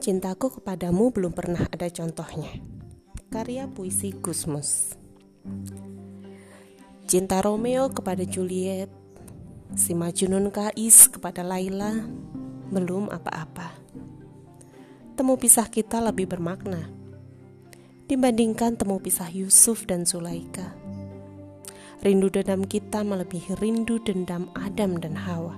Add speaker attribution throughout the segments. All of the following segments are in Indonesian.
Speaker 1: Cintaku kepadamu belum pernah ada contohnya. Karya puisi Gusmus. Cinta Romeo kepada Juliet, si Majnun Kais kepada Laila, belum apa-apa. Temu pisah kita lebih bermakna dibandingkan temu pisah Yusuf dan Zulaika. Rindu dendam kita melebihi rindu dendam Adam dan Hawa.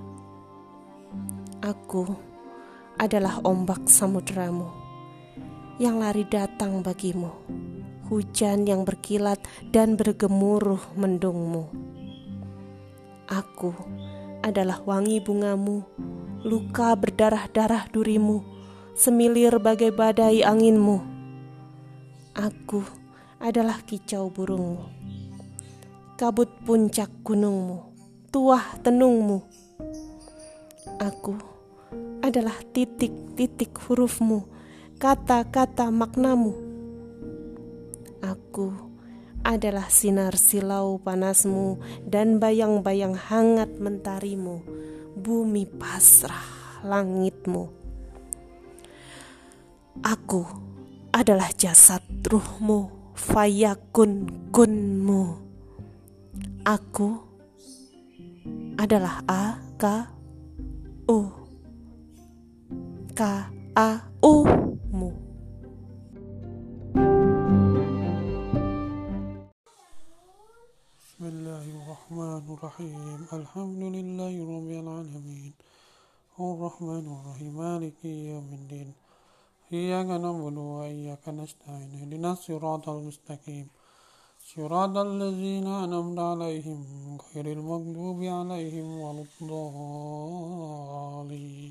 Speaker 1: Aku adalah ombak samudramu yang lari datang bagimu, hujan yang berkilat dan bergemuruh mendungmu. Aku adalah wangi bungamu, luka berdarah-darah durimu, semilir bagai badai anginmu. Aku adalah kicau burungmu, kabut puncak gunungmu, tuah tenungmu. Aku adalah titik-titik hurufmu, kata-kata maknamu. Aku adalah sinar silau panasmu dan bayang-bayang hangat mentarimu, bumi pasrah langitmu. Aku adalah jasad ruhmu, fayakun kunmu. Aku adalah K-A-U-mu.
Speaker 2: Bismillahirrahmanirrahim. Alhamdulillahi rabbil alamin. Ar-Rahmanir-Rahim. Maliki yaumiddin. Iyyaka na'budu wa iyyaka nasta'in. Ihdinas siratal mustaqim. Siratal ladzina an'amta 'alaihim ghairil maghdubi 'alaihim waladdallin.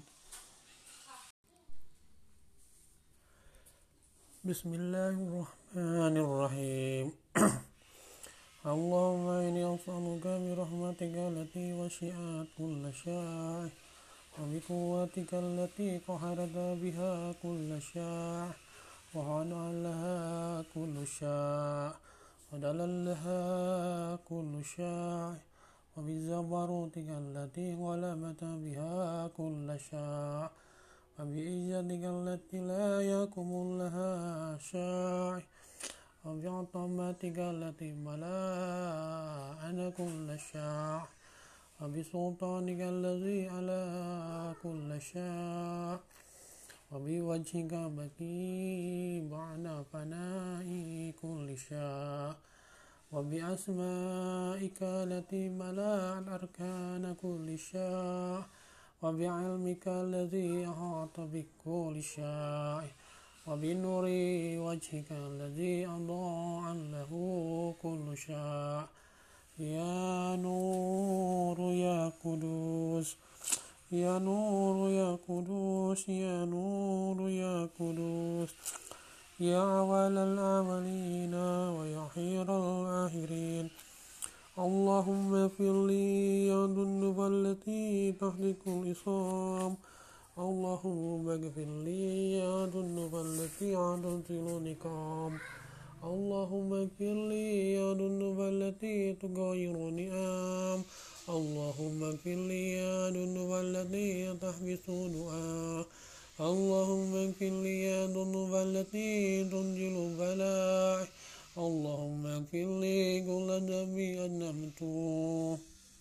Speaker 2: Bismillahirrahmanirrahim. Allahumma inni as'aluka bi rahmatika allati wasi'at kulla syai' wa bi quwwatika allati qaharta biha kulla syai' wa 'alaha kullu syai' wa dalallaha kullu syai' wa bi zabarutika allati ghalabata biha kulla syai' wa bi izzatika allati la yaqumu laha syai' wa bi 'azamatika allati mala'ana kulla syai' wa bi sultanika allazi ala kulla syai' wa bi wajhika baki ba'da fana'i kulli syai' wa bi asma'ika allati mala'at arkana kulli syai' wa bi 'ilmika allazi ahata bi kulli syai' wa bi nuri wajhika allazi adha'a lahu kullu syai' ya nuru ya kudus ya nuru ya kudus ya nuru ya kudus ya awalal awalina wa ya akhiral akhirin. Allahumma firli ya dunuba allati tahlikul isam. Allahumma gfirli ya dunuba allati adunzilu nikam. Allahumma gfirli ya dunuba allati tugayiru ni'am. Allahumma gfirli ya dunuba allati tahbisu du'a. Allahumma gfirli ya dunuba allati tunjilu bala'. Allahumma gfirli kulla dhanbi adnabtu.